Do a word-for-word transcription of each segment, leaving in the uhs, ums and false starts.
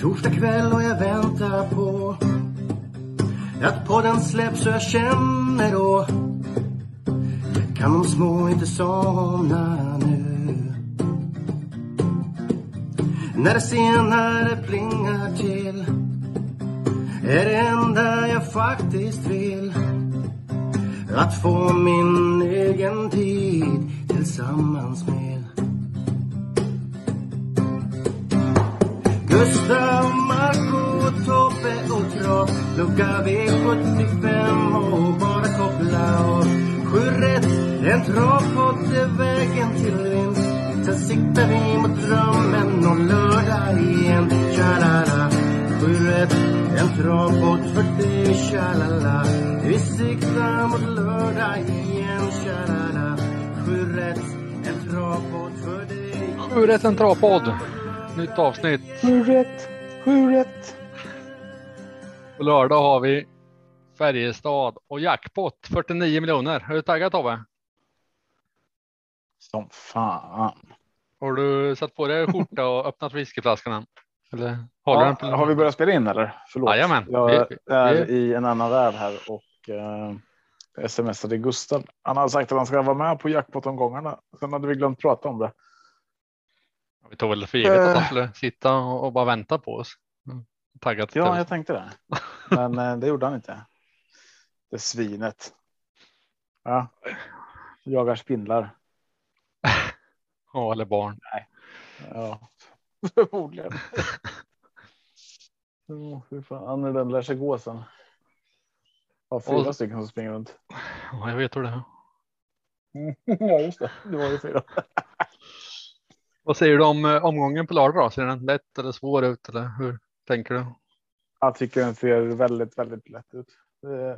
Torsdag kväll och jag väntar på att podden släpps och jag känner då kan de små inte somna nu. När det senare plingar till är det enda jag faktiskt vill att få min egen tid tillsammans med Gustav, Marco, Tobbe och Trav. Lucka V sjuttiofem och bara koppla av. Sju rätt, en travpodd är vägen till vinst. Sen siktar vi mot drömmen om lördag igen. Tjalala, sju rätt, en travpodd för dig. Tjalala, vi siktar mot lördag igen. Tjalala, sju rätt, en travpodd för dig. Sju rätt, en travpodd. Nytt avsnitt. Sju rätt, sju rätt. På lördag har vi Färjestad och jackpot fyrtionio miljoner. Är du taggad, Tobbe? Som fan. Har du satt på dig skjorta och öppnat whiskyflaskan än? Eller har, Ja, du den på... har vi börjat spela in eller? Förlåt. Jajamän. Jag Vi- är vi- i en annan värld här och eh, smsade Gustav. Han har sagt att han ska vara med på jackpot-omgångarna. Sen hade vi glömt prata om det. Vi tog väl för givet att Eh. han skulle sitta och och bara vänta på oss. Mm. Taggad till Ja, det. jag tänkte det. Men eh, det gjorde han inte. Det svinet. Ja. Jagar spindlar. Ja, eller barn. Ja, förmodligen. Oh, hur fan när den lär sig gå sen. Ja, fyra Och- stycken som springer runt. Ja, jag vet hur det är. Ja, just det. Det var ju fyra. Vad säger du om eh, omgången på lördag då? Ser den lätt eller svår ut? Eller hur tänker du? Jag tycker den ser väldigt, väldigt lätt ut. Eh,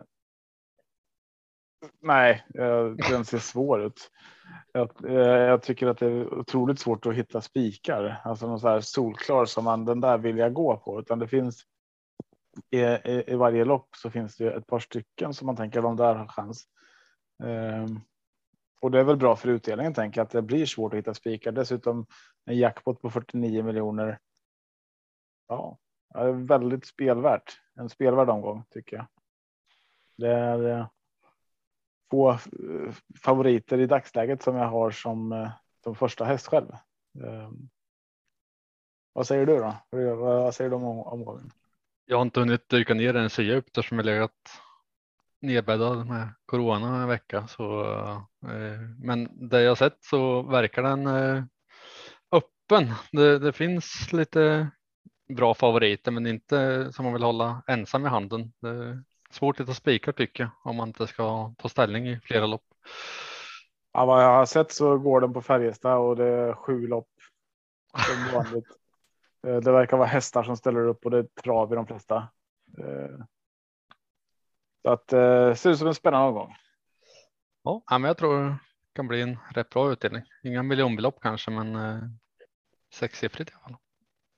nej, eh, den ser svår ut. Jag, eh, jag tycker att det är otroligt svårt att hitta spikar. Alltså någon så här solklar som man den där vill jag gå på. Utan det finns i, i, i varje lopp så finns det ett par stycken som man tänker de där har chans. Eh, och det är väl bra för utdelningen tänker jag att det blir svårt att hitta spikar. Dessutom en jackpot på fyrtionio miljoner. Ja. Ja, det är väldigt spelvärt. En spelvärd omgång tycker jag. Det är eh, få eh, favoriter i dagsläget som jag har som, eh, som första häst själv. Eh, vad säger du då? Vad, vad säger du om om- omgången? Jag har inte hunnit dyka ner i den så djupt eftersom jag legat nedbäddad med corona en vecka. Så, eh, men det jag sett så verkar den eh, öppen. Det, det finns lite bra favoriter men inte som man vill hålla ensam i handen. Det är svårt att ta spikar tycker jag om man inte ska ta ställning i flera lopp. Ja, vad jag har sett så går den på Färjestad och det är sju lopp som vanligt. Eh, det verkar vara hästar som ställer upp och det är trav i de flesta. Eh, så att eh, ser ut som en spännande omgång. Ja, men jag tror det kan bli en rätt bra utdelning. Inga miljonbelopp kanske men eh, sexsiffrigt i alla fall.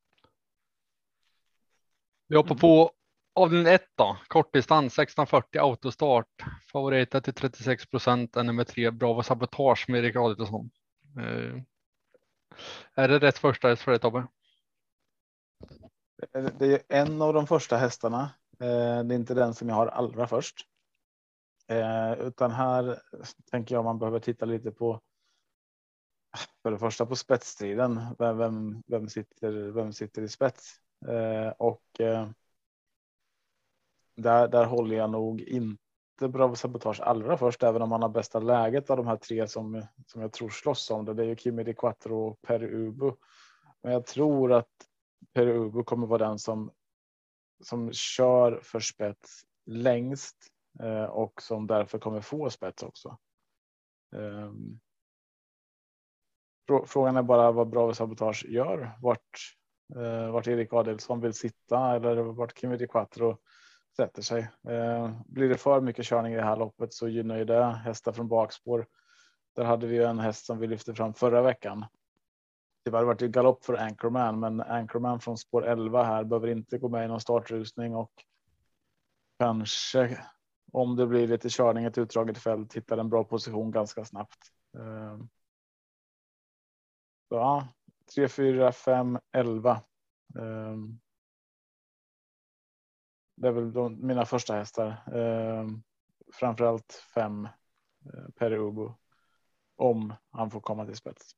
Vi hoppar på avdelning ett då. Kortdistans sexton fyrtio autostart. Favoriter till trettiosex procent är nummer tre Bravo Sabotage med Erik Adielsson. Eh, är det rätt första häst för dig Tobbe? Det är en av de första hästarna. Eh, Det är inte den som jag har allra först. Eh, Utan här tänker jag man behöver titta lite på för det första på spetsstriden. Vem, vem, vem, sitter, vem sitter i spets? Eh, Och eh, där, där håller jag nog inte Bravo Sabotage allra först. Även om man har bästa läget av de här tre som, som jag tror slåss om det. Det är ju Kimi Di Quattro och Per Ubu. Men jag tror att Per Ubu kommer vara den som som kör för spets längst eh, och som därför kommer få spets också. Um, frågan är bara vad Bravo Sabotage gör. Vart, eh, vart Erik Adielsson vill sitta eller vart Kimi Di Quattro sätter sig. Eh, blir det för mycket körning i det här loppet så gynnar ju det hästar från bakspår. Där hade vi en häst som vi lyfte fram förra veckan. Det har varit ju galopp för Anchorman, men Anchorman från spår elva här behöver inte gå med i någon startrusning och kanske om det blir lite körning ett utdraget fält hittar en bra position ganska snabbt. Så ja, tre, fyra, fem, elva. det är väl de, mina första hästar. Eh, framförallt fem eh, Perubo. Om han får komma till spets.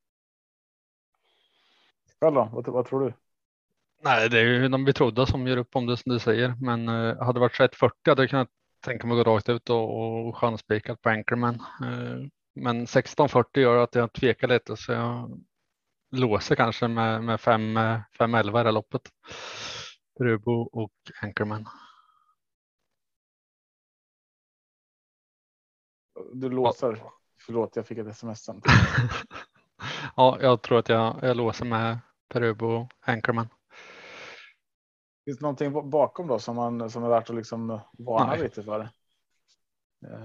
Själv då? Vad, vad tror du? Nej, det är ju de betrodda som gör upp om det som du säger. Men eh, hade det varit tjugoett fyrtio hade jag kunnat tänka mig att gå rakt ut och, och chanspikat på Anchorman. Eh, men sexton fyrtio gör att jag tvekar lite så jag låser kanske med, med fem elva i det loppet. Perubo och Anchorman. Du låser. Ja. Förlåt, jag fick ett sms sen. Ja, jag tror att jag, jag låser med Perubo och Anchorman. Finns det någonting bakom då som, man, som är värt att liksom varna Nej. lite för? Uh,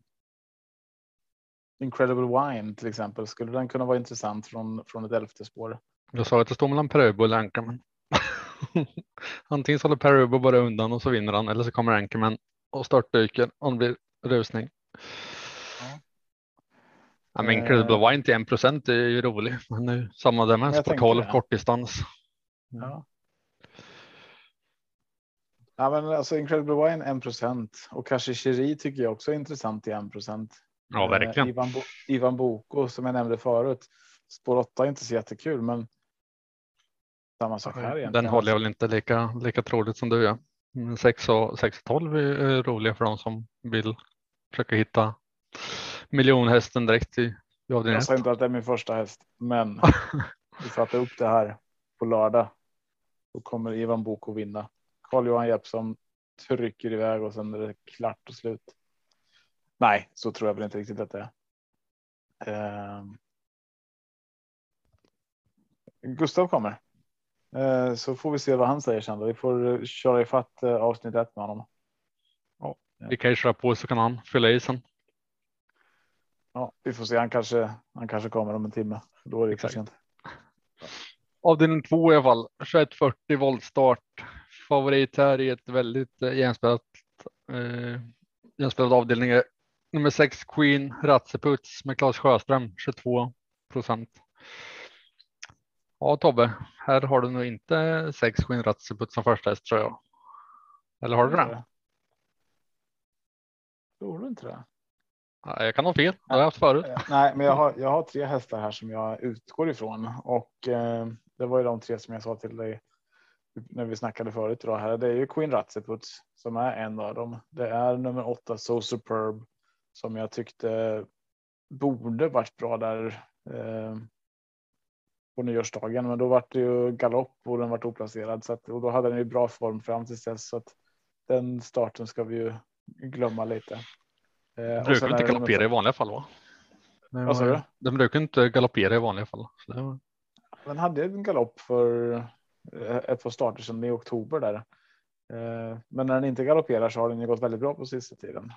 Incredible Wine till exempel. Skulle den kunna vara intressant från, från ett elfte spår? Jag sa att det står mellan Perubo och Anchorman. Antingen så håller Perubo bara undan och så vinner han. Eller så kommer Anchorman och startdyker och det blir rusning. Ja. Ja, men Incredible uh, Wine till en procent är ju rolig. Men nu samma där med sport tolv kortdistans. Mm. Ja. Ja, men alltså Incredible Wine en procent och kanske Cheri tycker jag också är intressant i en procent. Ja, verkligen. Uh, Ivan, Bo- Ivan Boko som jag nämnde förut. Spår åtta är inte så jättekul, men samma sak här egentligen. Den håller jag väl inte lika, lika troligt som du gör. Ja. sex och tolv är roliga för de som vill försöka hitta miljonhästen direkt i avdelning. Jag sa inte att det är min första häst, men vi satte upp det här på lördag. Då kommer Ivan Boko vinna. Carl-Johan Jeppsson trycker iväg och sen är det klart och slut. Nej, så tror jag väl inte riktigt att det är. Uh, Gustav kommer. Uh, så får vi se vad han säger sen då. Vi får köra ifatt uh, avsnitt ett med honom. Ja, vi kan ju köra på så kan han fylla i sen. Ja, vi får se. Han kanske, han kanske kommer om en timme. Då är det för sent. Avdelning två i alla fall. tjugoett fyrtio voltstart. Favorit här i ett väldigt eh, jämspelat, eh, jämspelad avdelning är nummer sex Queen Ratseputs med Claes Sjöström tjugotvå procent. Ja Tobbe, här har du nog inte sex Queen Ratseputs som första häst tror jag. Eller har du det? Tror du inte det? Ja, jag kan ha fel, det har jag haft förut. Nej, men jag har, jag har tre hästar här som jag utgår ifrån och eh, det var ju de tre som jag sa till dig när vi snackade förut idag här. Det är ju Queen Ratseputs som är en av dem. Det är nummer åtta So Superb som jag tyckte borde varit bra där eh, på nyårsdagen, men då var det ju galopp och den var oplacerad så att, och då hade den ju bra form fram till dess så att den starten ska vi ju glömma lite. Den brukar inte galoppera i vanliga fall va? Vad sa du? Den brukar inte galoppera i vanliga fall. Så det var... Den hade en galopp för ett par starter sedan i oktober där. Men när den inte galopperar så har den ju gått väldigt bra på sista tiden.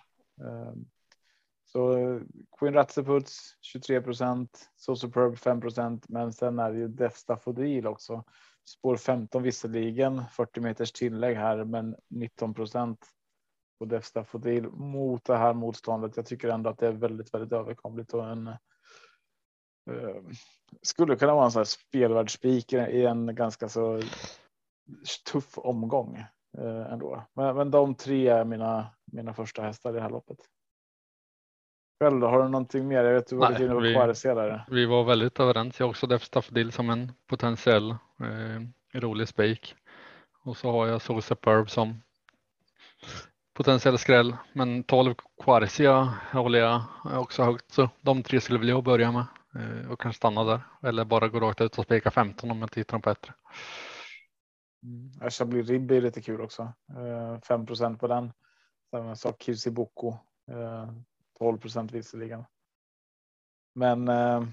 Så Queen Ratseputs tjugotre procent, So Superb fem procent, men sen är det ju Def Staffodil också. Spår femton visserligen, fyrtio meters tillägg här, men nitton procent på Def Staffodil mot det här motståndet. Jag tycker ändå att det är väldigt, väldigt överkomligt och en uh, skulle kunna vara en sån här spelvärldsspik i en ganska så tuff omgång uh, ändå. Men, men de tre är mina, mina första hästar i det här loppet. Själv då, har du någonting mer? Jag vet du var lite inne på Quaresea där. Vi var väldigt överens. Jag har också Def Staffodil som en potentiell eh, rolig spik. Och så har jag So Superb som potentiell skräll. Men tolv Quaresea håller jag också högt. Så de tre skulle vilja börja med. Eh, och kanske stanna där. Eller bara gå rakt ut och spika femton om jag tittar dem på bättre. Mm. Chablis Ribb är lite kul också. Eh, fem procent på den. Samma sak Kirsi Boko. Eh, tolv procent visserligen. Men eh,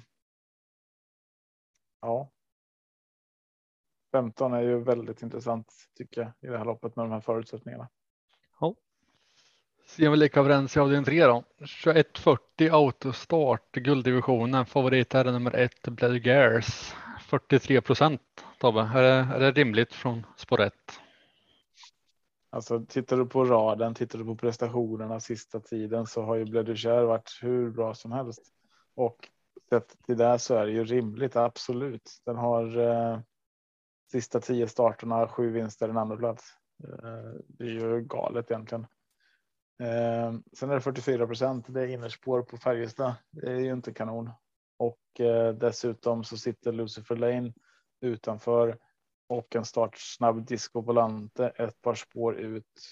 ja. femton är ju väldigt intressant tycker jag i det här loppet med de här förutsättningarna. Ja. Ser vi lika överens i avdelning tre då. tjugoett fyrtio autostart gulddivisionen. Favorit är nummer ett Bloody Gears. fyrtiotre procent. Tobbe, är det, är det rimligt från spår ett? Alltså tittar du på raden, tittar du på prestationerna sista tiden så har ju Bledugère varit hur bra som helst. Och sett till det så är det ju rimligt, absolut. Den har eh, sista tio starterna, sju vinster, en andra plats. Det är ju galet egentligen. Sen är det fyrtiofyra procent. Det är innerspår på Färjestad. Det är ju inte kanon. Och dessutom så sitter Lucifer Lane utanför. Och en startsnabb Disco Volante ett par spår ut.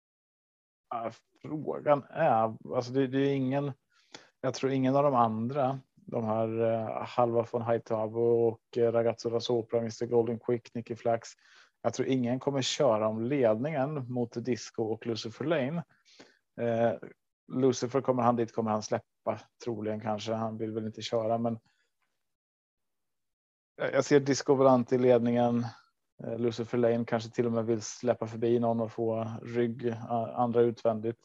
Frågan är, alltså det, det är ingen, jag tror ingen av de andra, de här uh, Halva von Haitabo och uh, Ragazzo da Sopra, mister Golden Quick, Nicky Flax. Jag tror ingen kommer köra om ledningen mot Disco och Lucifer Lane. Uh, Lucifer kommer han dit, kommer han släppa troligen kanske. Han vill väl inte köra, men jag ser Disco Volante i ledningen. Lucifer Lane kanske till och med vill släppa förbi någon och få rygg, andra utvändigt.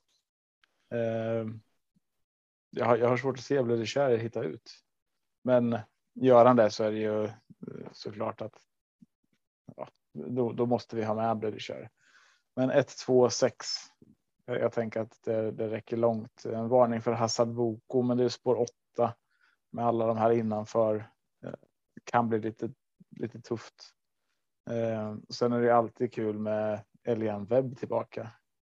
Jag har, jag har svårt att se Bloody Cher hitta ut. Men gör han det så är det ju såklart att ja, då, då måste vi ha med Bloody Cher. Men ett, två, sex. Jag tänker att det, det räcker långt. En varning för Hassad Boko, men det är spår åtta med alla de här innanför. Kan bli lite, lite tufft. Eh, sen är det alltid kul med Elian Webb tillbaka.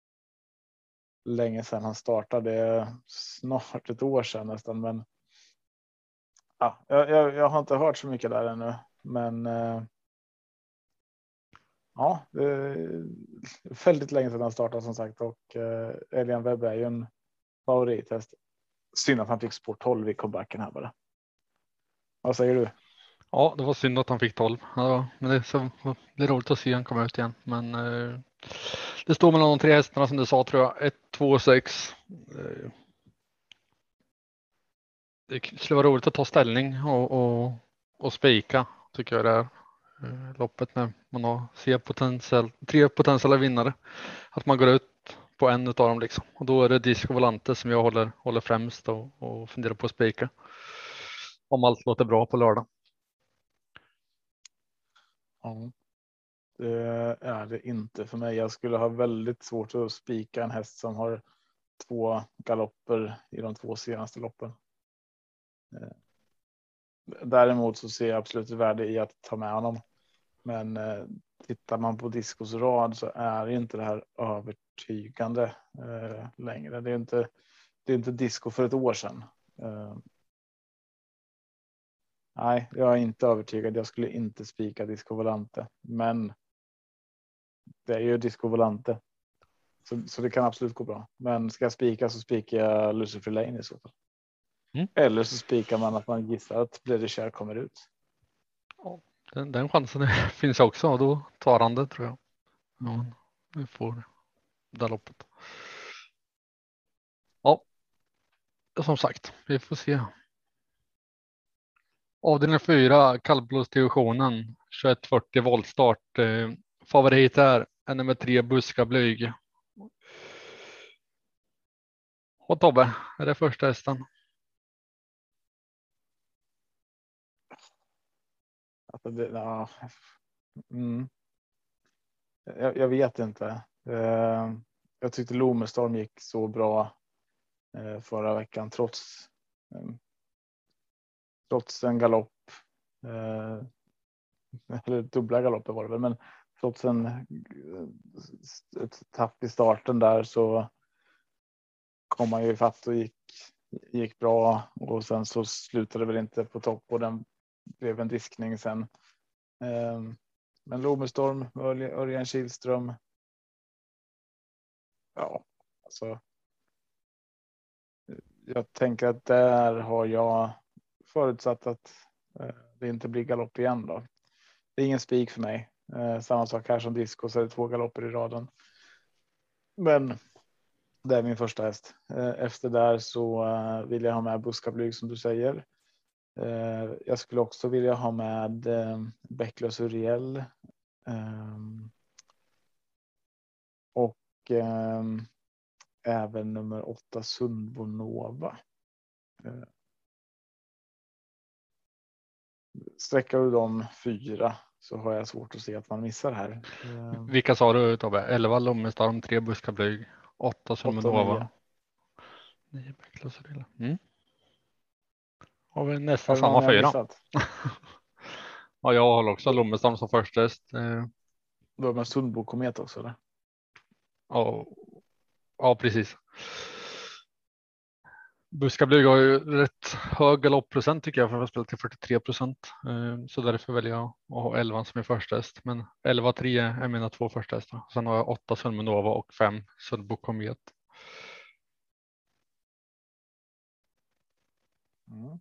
Länge sedan han startade, snart ett år sedan nästan, men ja, jag, jag, jag har inte hört så mycket där ännu, men eh, ja, det är väldigt länge sedan han startade som sagt, och eh, Elian Webb är ju en favorithäst. Synd att han fick spår tolv i comebacken här bara. Vad säger du? Ja, det var synd att han fick tolv. Ja, men det är, så, det är roligt att se han komma ut igen. Men eh, det står mellan de tre hästarna som du sa, tror jag. ett, två, sex. Eh, det skulle vara roligt att ta ställning och, och, och spika, tycker jag det är. Eh, loppet när man har ser potentiell, tre potentiella vinnare. Att man går ut på en av dem liksom. Och då är det Disco Volante som jag håller, håller främst och, och funderar på att spika. Om allt låter bra på lördag. Ja, det är det inte för mig. Jag skulle ha väldigt svårt att spika en häst som har två galopper i de två senaste loppen. Däremot så ser jag absolut värde i att ta med honom. Men tittar man på Discos rad så är inte det här övertygande längre. Det är inte, det är inte Disco för ett år sedan. Nej, jag är inte övertygad. Jag skulle inte spika Disco Volante. Men det är ju Disco Volante. Så, så det kan absolut gå bra. Men ska jag spika så spikar jag Lucifer Lane i så fall. Mm. Eller så spikar man att man gissar att Bloody Cher kommer ut. Ja, den, den chansen finns också. Och då tar han det, tror jag. Ja, vi får det loppet. Ja, som sagt, vi får se. Avdelning fyra, kallblodsdivisionen, tjugoett fyrtio voltstart. Eh, favorit är nummer tre, Buska Blyg. Och Tobbe, är det första hästen? Alltså det, ja. mm. jag, jag vet inte. Eh, jag tyckte Lomestorm gick så bra eh, förra veckan trots eh, trots en galopp. Eh, eller dubbla galopper var det väl, men trots en ett tapp i starten där så kom man ju fatt och gick, gick bra, och sen så slutade det väl inte på topp och den blev en diskning sen. Eh, men Lomestorm, Örjan Kihlström. Ja, alltså. Jag tänker att där har jag förutsatt att eh, det inte blir galopp igen då. Det är ingen spik för mig. Eh, samma sak här som Disco, så är det två galopper i raden. Men det är min första häst. Eh, efter där så eh, vill jag ha med Buska Blyg som du säger. Eh, jag skulle också vilja ha med eh, Bäcklös Uriel. Eh, och eh, även nummer åtta Sundbo Nova. Eh, sträckar du de fyra så har jag svårt att se att man missar här. Eh, Vilka sa du, Tobbe? elva Lommestorm, tre Buska Blyg, åtta Sundbo Nova. nio Bäcklös Uriel. Mm. Har vi nästan samma fyra. Ja, jag håller också Lommestorm som första häst. Du har med Sundbo Komet också, eller? Ja, ja precis. Buskablyg har ju rätt hög galoppprocent tycker jag för att spela till fyrtiotre procent. Så därför väljer jag att ha elva som är första häst. Men elva tre är mina två första hästar. Sen har jag åtta Sulmenova och fem Sulbo Komet. Mm.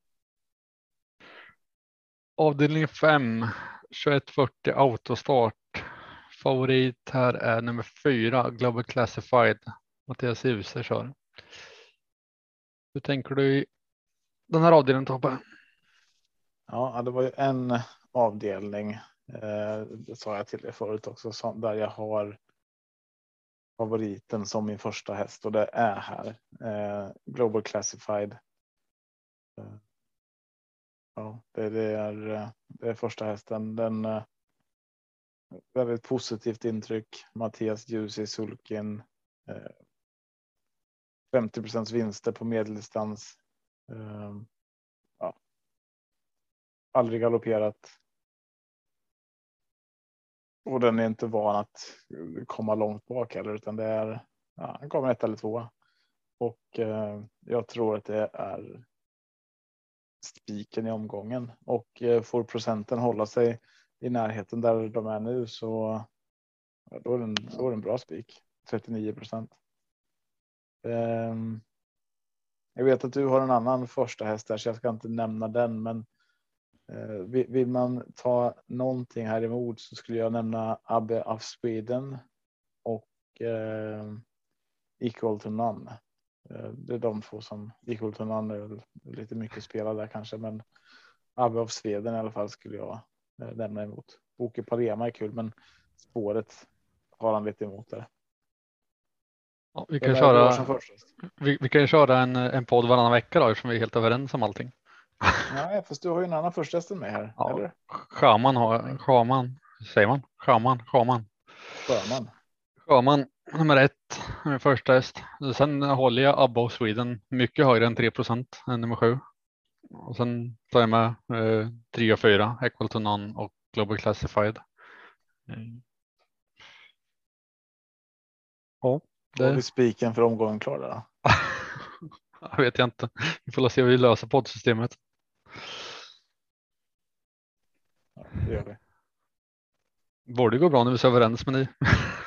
Avdelning fem, tjugoett fyrtio autostart. Favorit här är nummer fyra, Global Classified. Mattias Djuse kör. Hur tänker du i den här avdelningen, Tobbe? Ja, det var ju en avdelning. Eh, det sa jag till er förut också, som, där jag har favoriten som min första häst och det är här. Eh, Global Classified. Eh, ja, det, det, är, det är första hästen. Den eh, väldigt positivt intryck. Mattias Djuse i sulken. Eh, femtio procent vinster på medeldistans. Eh, ja. Aldrig galopperat. Och den är inte van att komma långt bak heller, utan det är, ja, han kommer ett eller två. Och eh, jag tror att det är spiken i omgången. Och eh, får procenten hålla sig i närheten där de är nu, så ja, då är den, då är den bra spik. trettionio procent. Eh, jag vet att du har en annan första häst där, så jag ska inte nämna den, men eh, vill, vill man ta någonting här emot så skulle jag nämna Abbe of Sweden och eh, Equal to None. Eh, det är de två som Equal to None är lite mycket spelade där kanske, men Abbe of Sweden i alla fall skulle jag eh, nämna emot. Boke Parema är kul, men spåret har han lite emot där. Ja, vi, Vem kan är det du har köra, som första? vi, vi kan ju köra en, en podd varannan vecka då, eftersom vi är helt överens om allting. Nej, fast du har ju en annan första hästen med här, Ja, eller? Schaman har, Schaman, säger man? Schaman, Schaman. Sjöman. Schaman, nummer ett, första häst. Sen håller jag Abba of Sweden mycket högre än tre procent än nummer sju. Och sen tar jag med eh, tre och fyra, Equal to None och Global Classified. Mm. Ja, Har det vi spiken för omgången klar där? jag vet jag inte. Vi får se hur vi löser poddsystemet. Ja, det gör vi. Borde gå bra när vi är så överens med ni.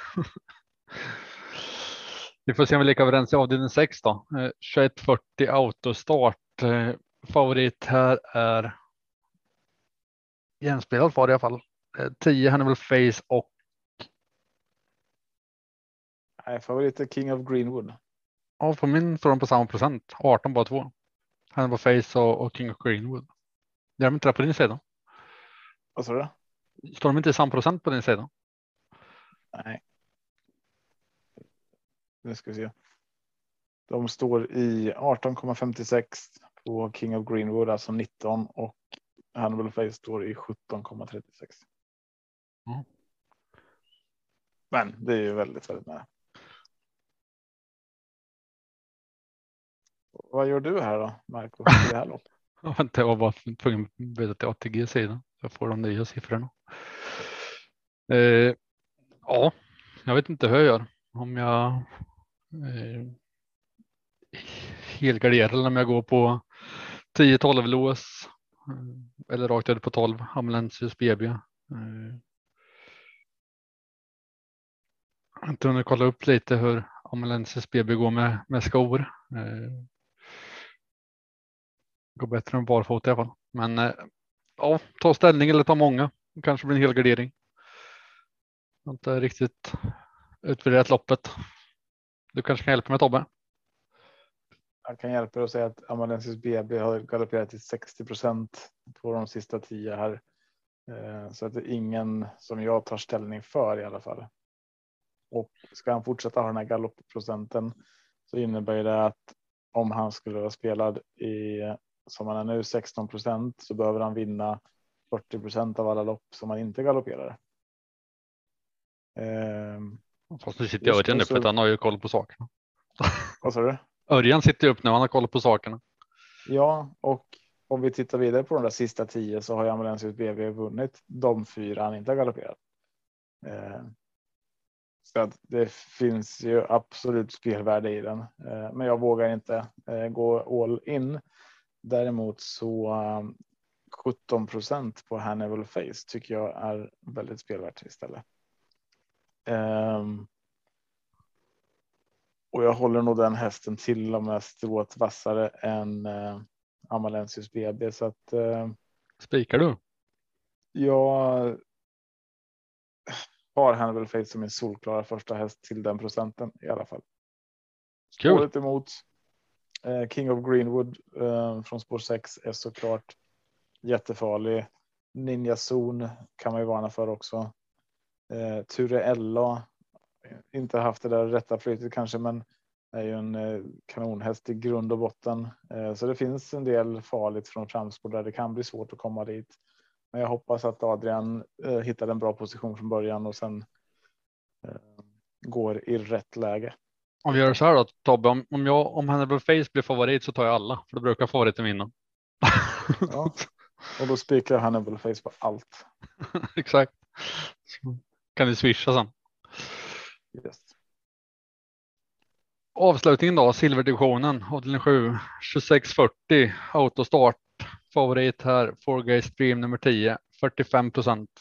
Vi får se om vi är lika överens i avdelning sex då. Eh, tjugoett fyrtio autostart. Eh, favorit här är jämspelad var det i alla fall. Eh, tio Hannibal Face och Nej, favorit är King of Greenwood. ja, på min står de på samma procent. arton bara två. Hannibal Face och, och King of Greenwood. Det är de inte där på din sida. Vad sa du? Står de inte i samma procent på din sida? Nej. Nu ska vi se. De står i arton komma femtiosex på King of Greenwood, alltså nitton, och Hannibal Face står i sjutton komma trettiosex. Mm. Men det är ju väldigt, väldigt nära. Vad gör du här då, Marco? Det här loppet? Jag var bara tvungen att byta till A T G-sidan. Jag får de nya siffrorna. Eh, ja, jag vet inte hur jag gör. Om jag eh, helgarderar eller om jag går på tio tolv lås eh, eller rakt över på tolv Amalensius B B. Eh, jag har inte hunnit kolla upp lite hur Amalensius B B går med, med skor. Eh, går bättre än barfota i alla fall. Men eh, ja, ta ställning eller ta många. Det kanske blir en helgardering. Jag har inte riktigt utvärderat loppet. Du kanske kan hjälpa mig, Tobbe? Jag kan hjälpa er att säga att Amalensius B B har galopperat till sextio procent på de sista tio här. Så att det är ingen som jag tar ställning för i alla fall. Och ska han fortsätta ha den här galoppprocenten så innebär det att om han skulle vara spelad i, som han är nu, sexton procent, så behöver han vinna fyrtio procent av alla lopp som han inte galopperar. Ehm, Fast nu sitter jag Örjan nu för att han har ju koll på sakerna. Vad sa du? Örjan sitter ju upp när han har koll på sakerna. Ja, och om vi tittar vidare på de där sista tio så har ju Amalensius B B vunnit de fyra han inte har galopperat. Ehm, Så att det finns ju absolut spelvärde i den. Eh, men jag vågar inte eh, gå all in. Däremot så um, sjutton procent på Hannibal Face tycker jag är väldigt spelvärt istället. Um, och jag håller nog den hästen till och med strået vassare än uh, Amalensius B B. Så att uh, Spikar du? jag har Hannibal Face som en solklara första häst till den procenten i alla fall. Spåret emot uh, King of Greenwood uh, från spår sex är såklart jättefarlig. Ninja Zon kan man ju varna för också. Uh, Ture Ella inte haft det där rätta flytet kanske, men är ju en uh, kanonhäst i grund och botten. Uh, så det finns en del farligt från framspår där det kan bli svårt att komma dit. Men jag hoppas att Adrian uh, hittar en bra position från början och sen uh, går i rätt läge. Om vi gör så här då, Tobbe, om, om, jag, om Hannibal Face blir favorit så tar jag alla, för då brukar favoriten vinna. Ja, och då spikar jag Hannibal Face på allt. Exakt. Så kan vi swisha sen. Yes. Avslutningen då, silverdivisionen, avdelning sju, tjugosex fyrtio, autostart. Favorit här, four Guys Stream nummer tio, fyrtiofem procent.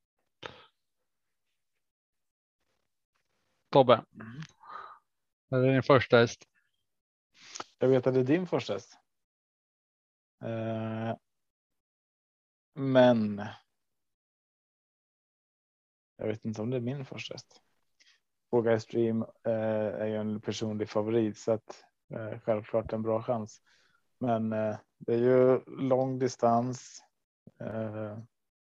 Tobbe, mm. Det är din första häst. Jag vet att det är din första häst. Uh, men jag vet inte om det är min första häst. four Guys Stream uh, är ju en personlig favorit, så att uh, självklart en bra chans. Men uh, det är ju lång distans. Uh,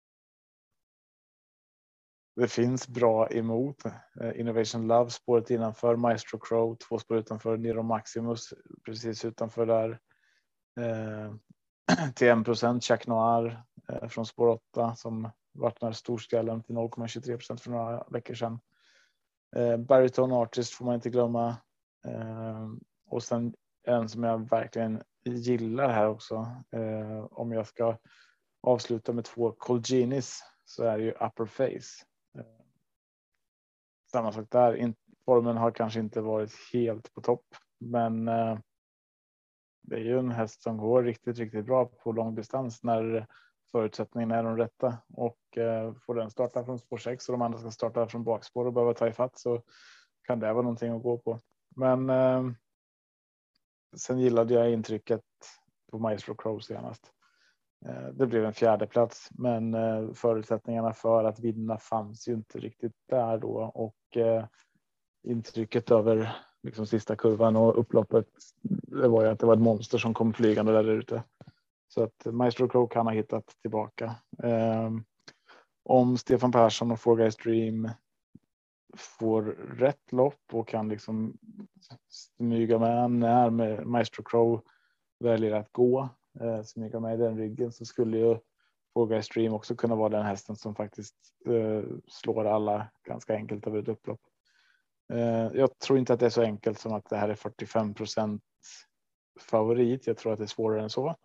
det finns bra emot. Uh, Innovation Love, spåret innanför, Maestro Crow, två spår utanför, Nero Maximus precis utanför där. Uh, till en procent Jack Noir uh, från spår åtta som vart den här storskallen till noll komma tjugotre procent för några veckor sedan. Uh, Baritone Artist får man inte glömma. Uh, och sen en som jag verkligen gillar här också. Uh, om jag ska avsluta med två Colginis så är det ju Upper Face. Uh, samma sak där. In, formen har kanske inte varit helt på topp, men uh, det är ju en häst som går riktigt, riktigt bra på lång distans när förutsättningarna är de rätta, och uh, får den starta från spår sex och de andra ska starta från bakspår och behöva ta ifatt, så kan det vara någonting att gå på. Men uh, sen gillade jag intrycket på Maestro Crow senast. Uh, det blev en fjärde plats, men uh, förutsättningarna för att vinna fanns ju inte riktigt där då, och uh, intrycket över liksom sista kurvan och upploppet, det var ju att det var ett monster som kom flygande där ute. Så att Maestro Crow kan ha hittat tillbaka. Um, om Stefan Persson och four Guys Dream får rätt lopp och kan liksom smyga med när med Maestro Crow väljer att gå, uh, smyga med i den ryggen, så skulle ju four Guys Dream också kunna vara den hästen som faktiskt uh, slår alla ganska enkelt över ett upplopp. Jag tror inte att det är så enkelt som att det här är fyrtiofem procent favorit. Jag tror att det är svårare än så.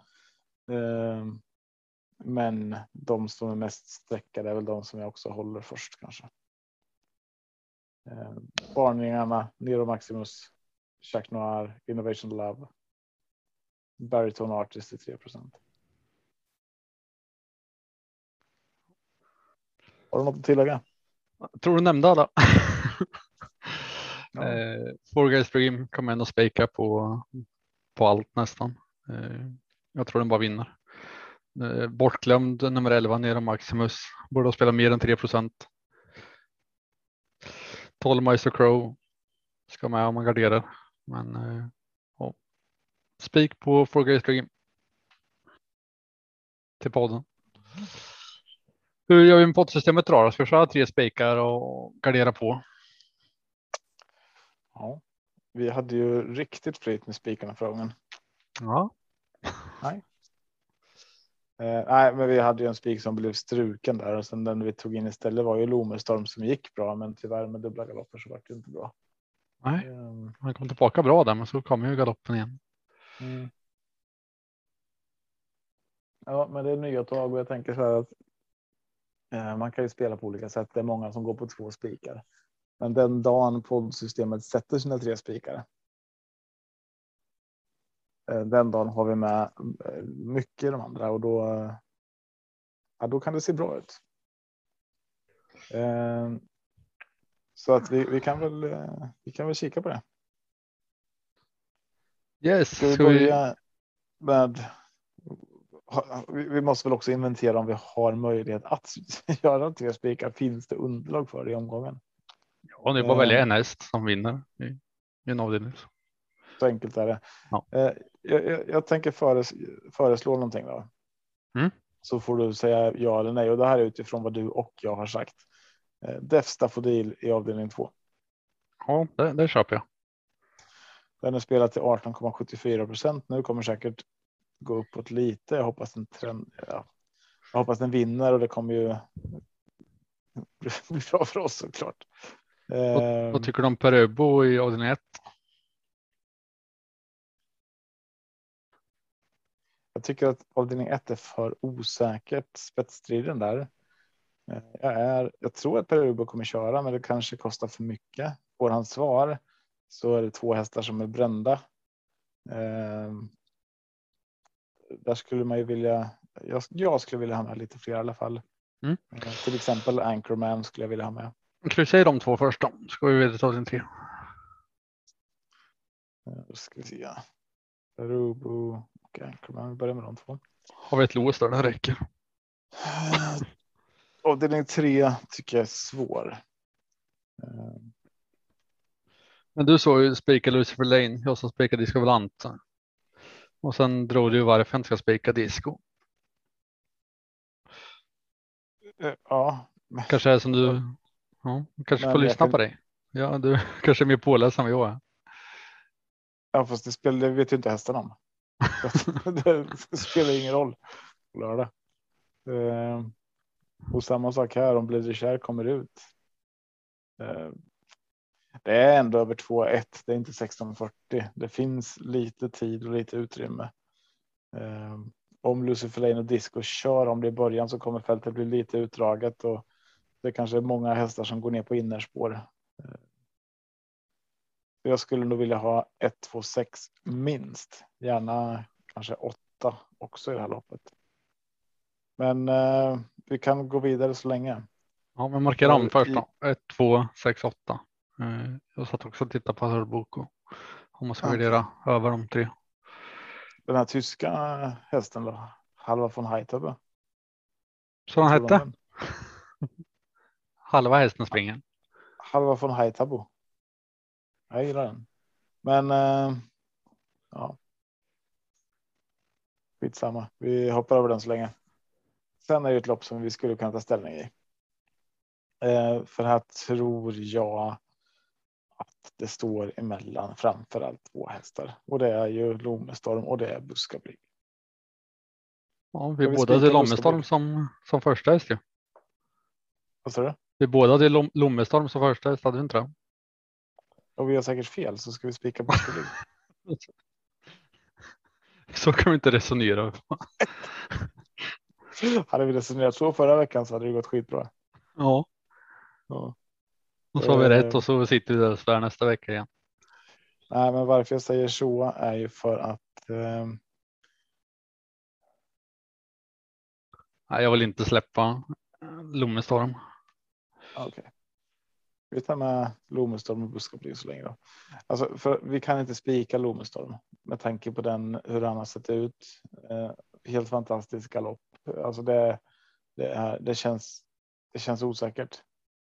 Men de som är mest sträckade är väl de som jag också håller först kanske. Varningarna, Nero Maximus, Jack Noir, Innovation Love, Baritone Artist till tre procent. Har du något att tillägga? Jag tror du nämnde alla. Ja. Eh, four Guys Dream kommer ändå spika på, på allt nästan. Eh, jag tror den bara vinner. Eh, bortglömd nummer elva Nero Maximus. Borde ha spelat mer än tre procent. tolv Maestro Crow ska med om man garderar. Men eh, ja. Spik på four Guys Dream. Till podden. Hur gör vi med poddsystemet då? Ska vi köra tre spikar och gardera på? Ja, vi hade ju riktigt flyt med spikarna förra gången. Ja. Nej. Eh, nej, men vi hade ju en spik som blev struken där, och sen den vi tog in istället var ju Lomerstorm som gick bra, men tyvärr med dubbla galopper så var det inte bra. Nej, um, han kom tillbaka bra där, men så kommer ju galoppen igen. Mm. Ja, men det är nya tag, och jag tänker så här att eh, man kan ju spela på olika sätt. Det är många som går på två spikar. Men den dagen poddsystemet sätter sina tre spikar, den dagen har vi med mycket i de andra och då, ja, då kan det se bra ut. Så att vi, vi kan väl vi kan väl kika på det. Yes. Ska vi börja med, vi måste väl också inventera om vi har möjlighet att göra tre spikar. Finns det underlag för det i omgången? Ja, det är bara välja en häst som vinner i, i en avdelning. Så enkelt är det. Ja. Jag, jag, jag tänker föres, föreslå någonting då. Mm. Så får du säga ja eller nej. Och det här är utifrån vad du och jag har sagt. Def Staffodil i avdelning två. Ja, det, det köper jag. Den är spelad till arton komma sjuttiofyra procent. Nu kommer säkert gå uppåt lite. Jag hoppas den trend, ja. Jag hoppas den vinner och det kommer ju bli bra för oss såklart. Vad, vad tycker du om Peröbo i avdelning ett? Jag tycker att avdelning ett är för osäkert, spetsstriden där. Jag, är, jag tror att Peröbo kommer köra, men det kanske kostar för mycket. Får han svar så är det två hästar som är brända. Eh, där skulle man ju vilja, jag, jag skulle vilja ha med lite fler i alla fall. Mm. Eh, till exempel Anchorman skulle jag vilja ha med. Ska vi säga de två först då? Ska vi vidare ta avdelning tre? Eh, då ska vi se. Peröbo och Anchorman, vi börjar med de två. Har vi ett lås där det räcker? Avdelning tre tycker jag är svår. Men du såg ju spika Lucifer Lane. Jag som spikade Disco Volante. Och sen drog du ju varför jag inte ska spika Disco. Ja. Kanske är som du. Ja, kanske Men får lyssna kan... på dig. Ja, du kanske är mer påläst än vad jag är. Ja, fast det spelar, det vet ju inte hästen om. Det spelar ingen roll på lördag. Uh, och samma sak här om Blir kär kommer ut. Uh, det är ändå över två ett. Det är inte sexton fyrtio. Det finns lite tid och lite utrymme. Uh, om Lucifer Lane och Disco kör om det i början så kommer fältet bli lite utdraget och det kanske är många hästar som går ner på innerspår. Uh, jag skulle nog vilja ha ett, två, sex minst. Gärna kanske åtta också i det här loppet. Men eh, vi kan gå vidare så länge. Ja, men markera om först i... då. ett, två, sex, åtta. Eh, jag satt också och tittade på Hörboko. Om man ska Okay. värdera över de tre. Den här tyska hästen då? Halva von Heitaba. Så han hette? Halva hästen springer. Halva von Heitabo. Jag gillar den. Men eh, ja. Skitsamma. Vi hoppar över den så länge. Sen är det ett lopp som vi skulle kunna ta ställning i. Eh, för här tror jag att det står emellan framförallt två hästar. Och det är ju Lomestorm och det är Buskablig. Ja, vi, vi båda hade Lomestorm som, som första häst ju. Vad sa du? Vi båda hade Lom, Lomestorm som första häst, hade vi inte det? Och vi har säkert fel så ska vi spika Buskablig. Så kan vi inte resonera. Hade vi resonerat så förra veckan så hade det gått skitbra. Ja. Ja. Och så har vi rätt och så sitter vi där och svär nästa vecka igen. Nej, men varför jag säger så är ju för att eh... Nej, jag vill inte släppa Lomestorm. Okej. Okay. Vi tar med Lomestorm och Buskablig så länge då. Alltså, för vi kan inte spika Lomestorm med tanke på den hur han har sett ut. Eh, helt fantastisk galopp. Alltså det, det, är, det, känns, det känns osäkert.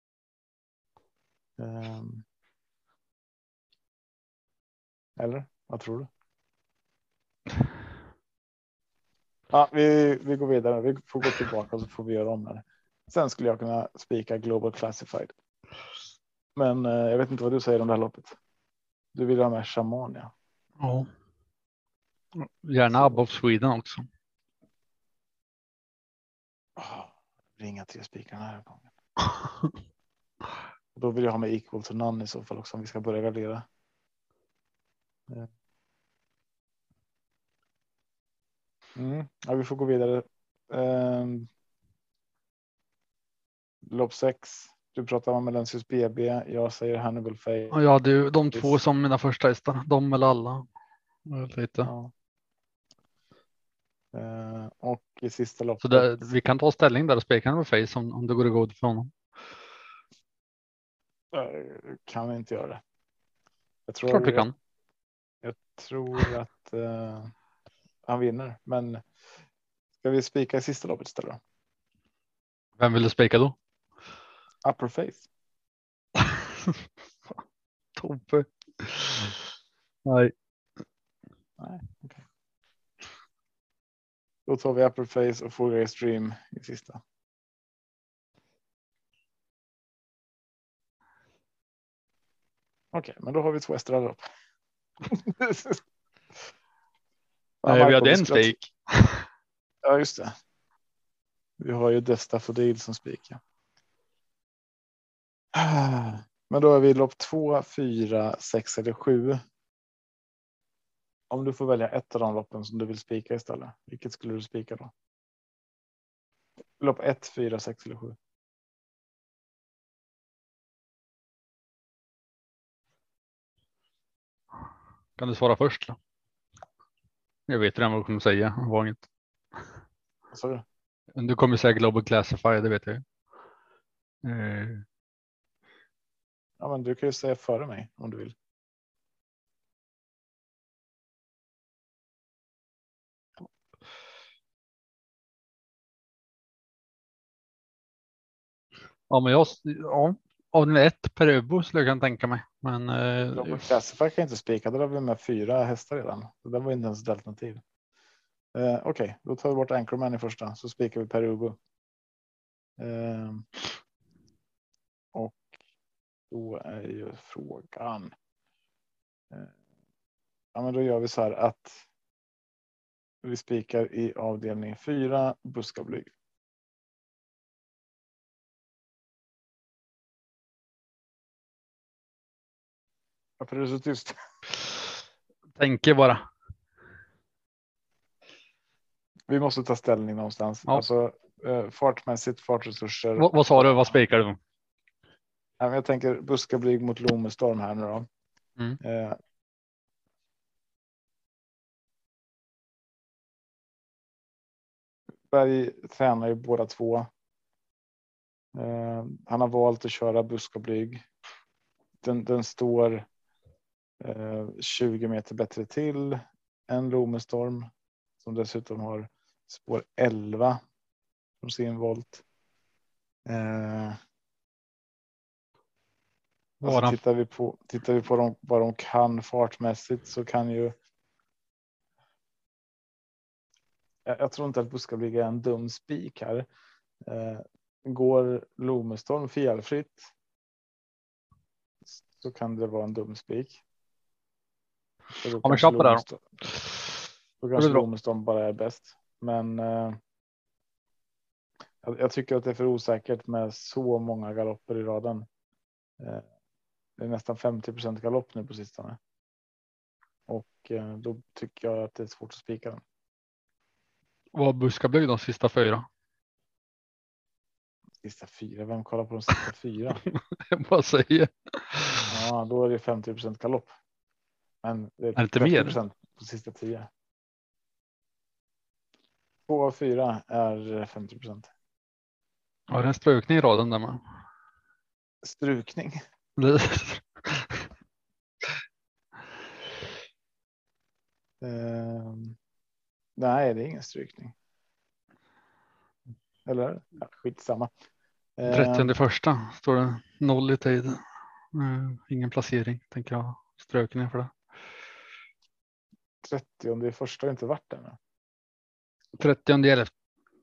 Eh, eller vad tror du? Ja, vi, vi går vidare. Vi får gå tillbaka och så får vi göra om det. Sen skulle jag kunna spika Global Classified. Men eh, jag vet inte vad du säger om det här loppet. Du vill ha med Shaman, ja. Ja. Gärna Above Sweden också. Oh, ringa tre spikar den här gången. Då vill jag ha med Equal to None i så fall också om vi ska börja gardera. Mm. Ja, vi får gå vidare. Um, lopp sex. Du pratar om Melensius B B. Jag säger Hannibal Face. Ja, jag hade ju de två som mina första hästar. De eller alla. Lite. Ja. Uh, och i sista loppet. Så där, vi kan ta ställning där och spika Hannibal Face om, om det går att gå för honom. Uh, kan vi inte göra det. Jag tror, Klart vi kan. Jag, jag tror att uh, han vinner. Men ska vi spika i sista loppet istället? Vem vill du spika då? Upper Face. Tobbe. Nej. Nej, okay. Då tar vi Upper Face och Four Grace Dream i sista. Okej, okay, men då har vi två hästar upp. Nej, vi hade en spik. Ja, just det. Vi har ju Desta Fodil som spik. Men då är vi lopp två, fyra, sex eller sju. Om du får välja ett av de loppen som du vill spika istället. Vilket skulle du spika då? Lopp ett, fyra, sex eller sju. Kan du svara först då? Jag vet redan vad du kommer säga. Var inget. Vad sa du? Du kommer säga Global Classifier, det vet jag. Eh. Ja, men du kan ju säga före mig om du vill. Ja, men jag, ja, av ett per öbo skulle jag kan tänka mig. Men eh, Global Classifier kan inte spika. Där har vi med fyra hästar redan. Så det var inte ens ett alternativ. Eh, Okej, okay. Då tar vi bort Anchorman i första. Så spikar vi per öbo. Eh, och då är ju frågan. Eh, ja, men då gör vi så här att vi spikar i avdelning fyra buskablyg. Varför är det så tyst? Tänker bara. Vi måste ta ställning någonstans. Ja. Alltså eh, fartmässigt, fartresurser. Vad, vad sa du? Vad spikar du? Ja, jag tänker buskablyg mot Lomestorm här nu då. Mm. Eh, Berg tränar ju båda två. Eh, han har valt att köra buskablyg. Den, den står eh, tjugo meter bättre till än Lomestorm. Som dessutom har spår elva från sin volt. Eh, alltså tittar vi på, tittar vi på dem, vad de kan fartmässigt så kan ju. Jag, jag tror inte att buskablyg är en dum spik här. Eh, går Lomestorm felfritt så kan det vara en dum spik. Ja, men köp på det då. Då kanske Lomestorm bara är bäst. Men eh, jag, jag tycker att det är för osäkert med så många galopper i raden. Eh, det är nästan femtio procent galopp nu på sistone. Och eh, då tycker jag att det är svårt att spika den. Vad buskablyg de sista fyra? Sista fyra? Vem kollar på de sista fyra? Jag bara säger. Ja, då är det femtio procent galopp. Men det är, är det inte trettio procent mer på sista tio. Två av fyra är femtio procent. Ja, det är en strukning i raden där man. Strukning. uh, nej, det är ingen strykning. Eller ja, skitsamma. Uh, trettionde första står det noll i tid. Uh, ingen placering, tänker jag. Strökning för det. trettionde i första har inte varit där nu. trettionde elfte.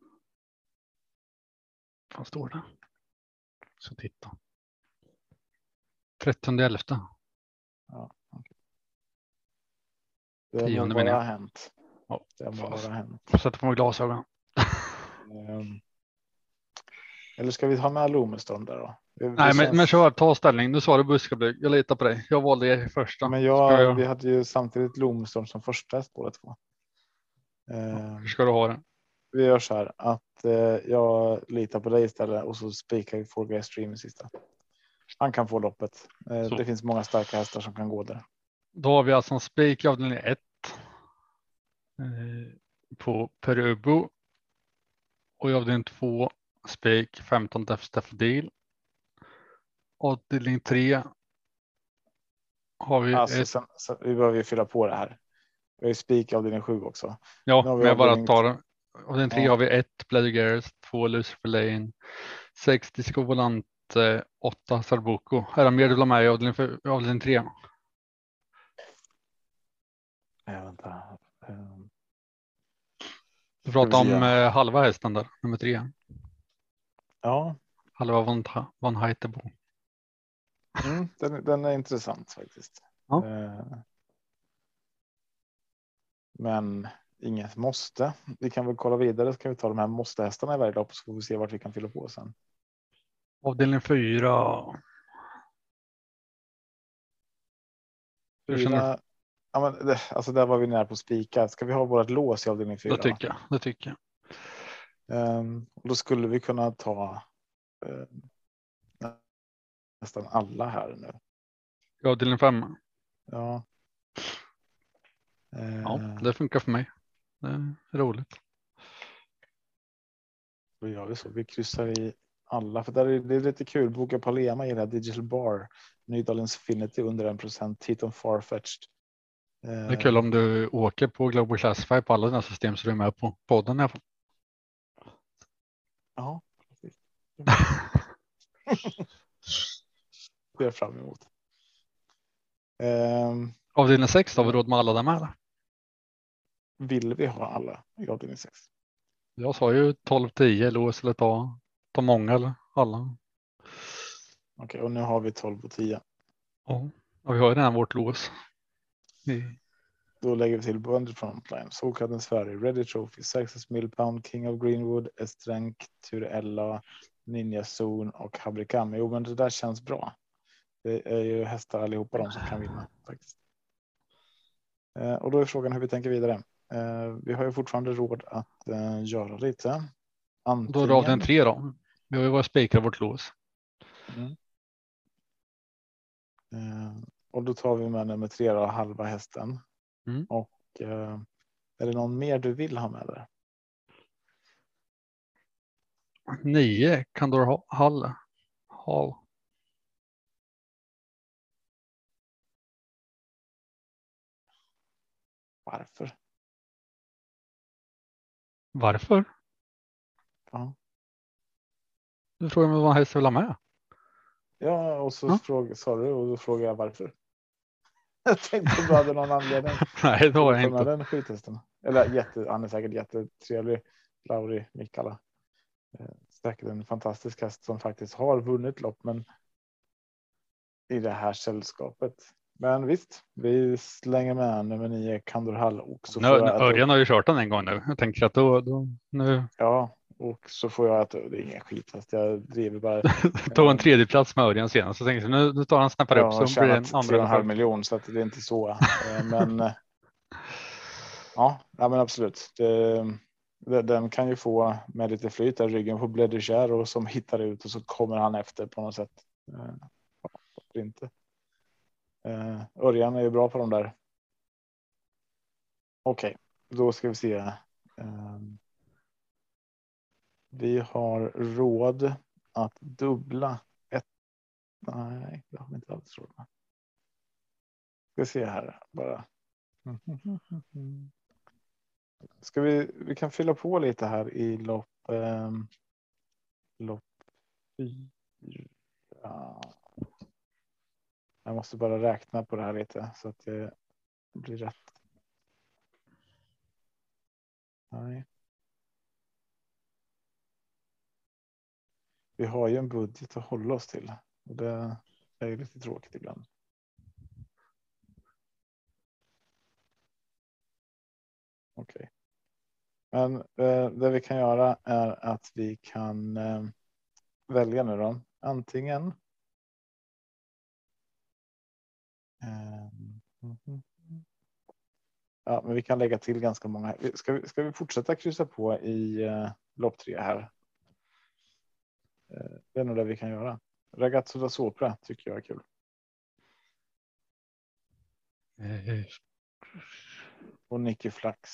Vad står det? Så titta. trettionde elfte. Ja, okay. Det tionde må bara menar ha hänt. Ja, det må bara ha hänt. Jag sätter på mig glasögon. um, eller ska vi ha med Lomestorm där då? Det, Nej, det men, känns... men kör, ta ställning. Du sa det buskablyg. Jag litar på dig. Jag valde er första. Men jag, jag... vi hade ju samtidigt Lomestorm som första häst båda två. Um, Hur ska du ha det? vi gör så här att eh, jag litar på dig istället och så spikar vi Four Guys Stream i sista. Han kan få loppet. Eh, det finns många starka hästar som kan gå där. Då har vi alltså en spik i avdelning ett eh, på Perubo. Och i avdelning två spik femton Def Staffodil. Avdelning tre har vi Alltså, ett... sen, sen, vi behöver ju fylla på det här. Vi har ju spik i avdelning sju också. Ja, Nu har vi men jag bara avdelning- tar avdelning tre Ja. har vi ett Bloody Gareth, två Lucifer Lane, sex Disco Volante, åtta Sarbuco. Är det mer du vill ha med i avdelning, för, avdelning tre? Nej, vänta. Um, Du pratar vi om se. eh, halva hästen där, nummer tre. Ja, Halva Van, Van Heitebo. mm, den, den är intressant faktiskt. Ja. Eh, men inget måste. Vi kan väl kolla vidare, så kan vi ta de här måste-hästarna i varje lopp så får vi se vart vi kan fylla på sen. Avdelning fyra. Hur känner du? Fyra, ja, men det, alltså där var vi nära på spika. Ska vi ha vårt lås i avdelning fyra? Det tycker jag. Det tycker jag. Um, och då skulle vi kunna ta um, nästan alla här nu. I avdelning fem. Ja. Ja, Uh, det funkar för mig. Det är roligt. Då gör vi så. Vi kryssar i alla. För där är det är lite kul. Boka Palema i det här Digital Bar. Nydalens Infinity under en procent. Titon Farfetched. Det är kul om du åker på Global Classify på alla dina system så du är med på podden i alla fall. Ja, precis. Det är fram emot. Um, Avdelning sex har vi råd med alla där med. Eller? Vill vi ha alla i avdelning sex? Jag sa ju tolv tio lås eller ta, ta många eller alla. Okej, okay, och nu har vi tolv och tio. Ja, och vi har ju redan vårt lås. Vi... Då lägger vi till Bonder Frontline, Solkadden Sverige, Ready Trophy, Saxes Millpound, King of Greenwood, Estrank, Turella, Ninja Zone och Habrikam. Jo, men det där känns bra. Det är ju hästar allihopa de som kan vinna faktiskt. Eh, och då är frågan hur vi tänker vidare. Eh, vi har ju fortfarande råd att eh, göra lite. Antingen... Då är det avdelning tre då. Vi har ju varit spikar vårt lås. Mm. Eh, och då tar vi med nummer tre då, halva hästen. Mm. Och eh, är det någon mer du vill ha med där? Nio Kandor Hall. Hall. Varför? Varför? Ja. Du frågar mig vad häst vill ha med. Ja, och så ja. fråga, sa du och då frågar jag varför. Jag tänkte du hade någon anledning. Nej, det har jag inte. Den skithästen. Eller jätte, han är säkert jättetrevlig. Lauri Mikala. Säkert en fantastisk häst som faktiskt har vunnit lopp, men i det här sällskapet. Men visst, vi slänger med nummer nio Kandor Hall också. Nu, Örjan har ju kört den en gång nu. Jag tänker att då, då nu. Ja, och så får jag att det är ingen skithäst. Jag driver bara. Tog en tredje plats med Örjan senast. Så tänkte jag, nu, nu tar han snappar upp så blir det en andra. tre och en halv miljon så att det är inte så. Men ja, ja, men absolut. Det, den kan ju få med lite flyt där ryggen på Bledishare och som hittar ut och så kommer han efter på något sätt. Ja, inte. Örjan är ju bra på de där. Okej, då ska vi se. Vi har råd att dubbla ett. Nej, det har vi inte alls råd med. Ska se här bara. Ska vi, vi kan fylla på lite här i lopp. Eh, lopp fyra. Jag måste bara räkna på det här lite så att det blir rätt. Nej. Vi har ju en budget att hålla oss till och det är ju lite tråkigt ibland. Okej. Okay. Men eh, det vi kan göra är att vi kan eh, välja nu då. Antingen eh, ja, men vi kan lägga till ganska många. Ska vi, ska vi fortsätta kryssa på i uh, lopp tre här? Uh, det är nog det vi kan göra. Ragazzo da Sopra tycker jag är kul. Mm. Och Nicky Flax.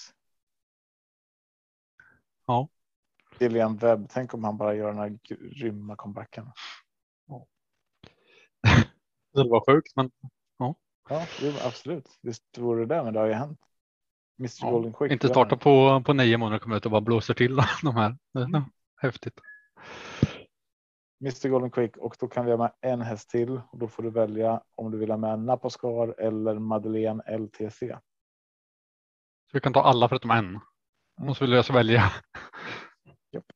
Ja. William Webb. Tänk om han bara gör den här grymma comebacken. Ja. Det var sjukt, men ja. Ja, absolut. Visst vore det, men det har ju hänt. mister Ja, Golden Quick. inte starta på, på nio månader kommer ut och bara blåser till de här. Mm. Häftigt. mister Golden Quick, och då kan vi ha med en häst till och då får du välja om du vill ha med Napascar eller Madeleine L T C. Så vi kan ta alla förutom en. Mm. Och så vill jag så välja. Yep.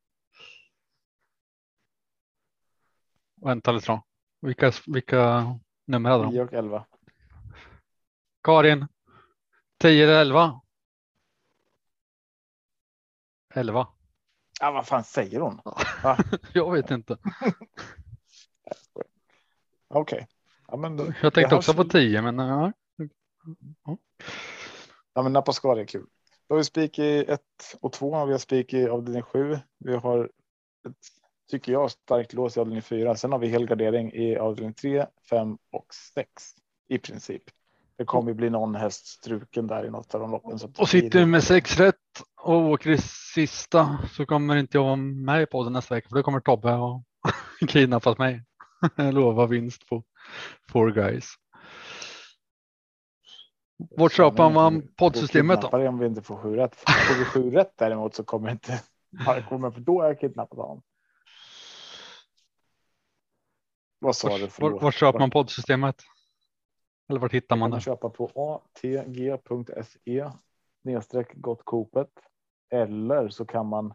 Vänta lite då. Vilka, vilka nummer hade de? tio och elva. Karin. tio eller elva? elva. Ja, vad fan säger hon? Jag vet inte. Okej. Okay. Ja, men jag tänkte också på tio, men ja. Ja, men Napascar är kul. Då har vi spik i ett och två. Vi har spik i avdelning sju. Vi har ett, tycker jag, starkt lås i avdelning fyra. Sen har vi helgardering i avdelning tre, fem och sex i princip. Det kommer bli någon häst struken där i något av de loppen. Så och sitter med sex rätt och åker i sista, så kommer inte jag vara med på den nästa vecka. För då kommer Tobbe och kidnappat mig. Jag lovar vinst på Four Guys. Vart köper man poddsystemet då? Om vi inte får sju rätt. Får vi sju rätt däremot så kommer inte kommer för då är jag kidnappad av. Vad sa du? Vart var köper man poddsystemet? Eller vart hittar man det? Man köpa på atg punkt se nedstreck gottkopet, eller så kan man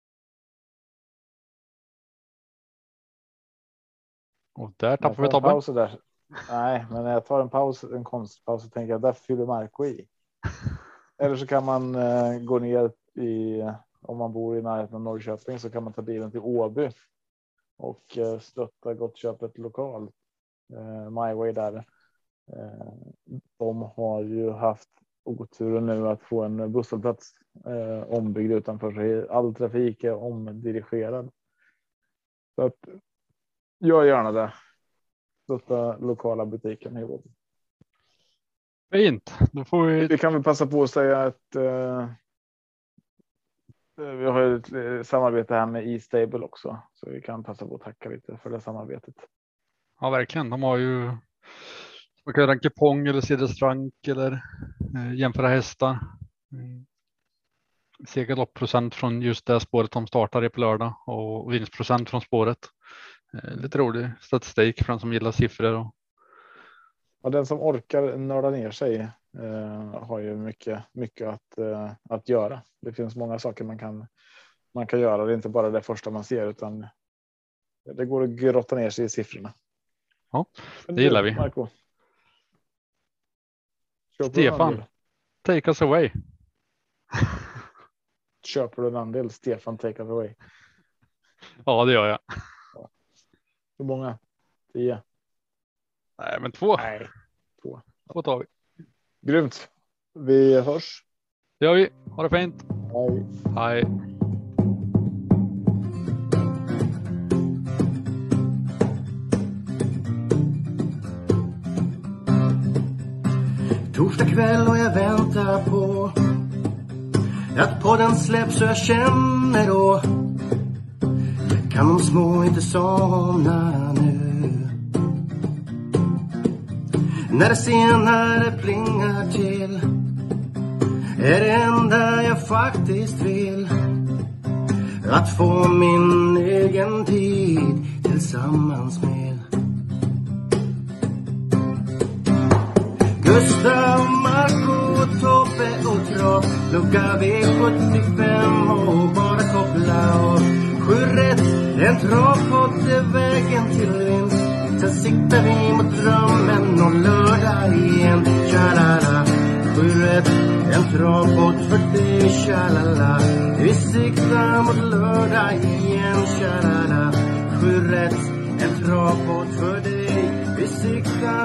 och där tappar vi Tobbe. Paus där. Nej, men när jag tar en paus, en konstpaus, så tänker jag där fyller Marco i. Eller så kan man uh, gå ner i, om man bor i närheten av Norrköping, så kan man ta bilen till Åby och uh, stötta Gottköpet lokal. Uh, My Way där. Uh, de har ju haft oturen nu att få en busshållplats uh, ombyggd utanför sig. All trafik är omdirigerad. Så att gör gärna det. Stötta lokala butiken i Åby. Fint. Då får vi... vi kan väl passa på att säga att uh, vi har ett samarbete här med E-Stable också. Så vi kan passa på att tacka lite för det samarbetet. Ja, verkligen. De har ju man kan göra en kupong eller se restaurang eller eh, jämföra hästar. Mm. Se galoppprocent från just det spåret de startar i på lördag och vinstprocent från spåret. Eh, lite rolig statistik för den som gillar siffror. Och... Ja, den som orkar nörda ner sig eh, har ju mycket, mycket att, eh, att göra. Det finns många saker man kan, man kan göra. Det är inte bara det första man ser, utan det går att grotta ner sig i siffrorna. Ja, det gillar vi. Marco. Stefan, take us away. Köper du en andel? Stefan, take us away. Ja, det gör jag. Ja. Hur många? Tio? Nej, men två. Nej, två. Två tar vi. Grymt. Vi hörs. Det gör vi. Ha det fint. Hej. Hej. Torsdag kväll och jag väntar på att podden släpps, så jag känner då kan de små inte somna nu. När det senare plingar till är det enda jag faktiskt vill att få min egen tid tillsammans med Gustav, Marco, Tobbe och Trav. Lucka V sjuttiofem och bara koppla av. Sju rätt, en travpodd är vägen till vinst. Sen siktar vi mot drömmen och lördag igen. Tjalala, sju rätt, en travpodd för dig. Tjalala, vi siktar mot lördag igen. Tjalala, sju rätt, en travpodd för dig. Vi siktar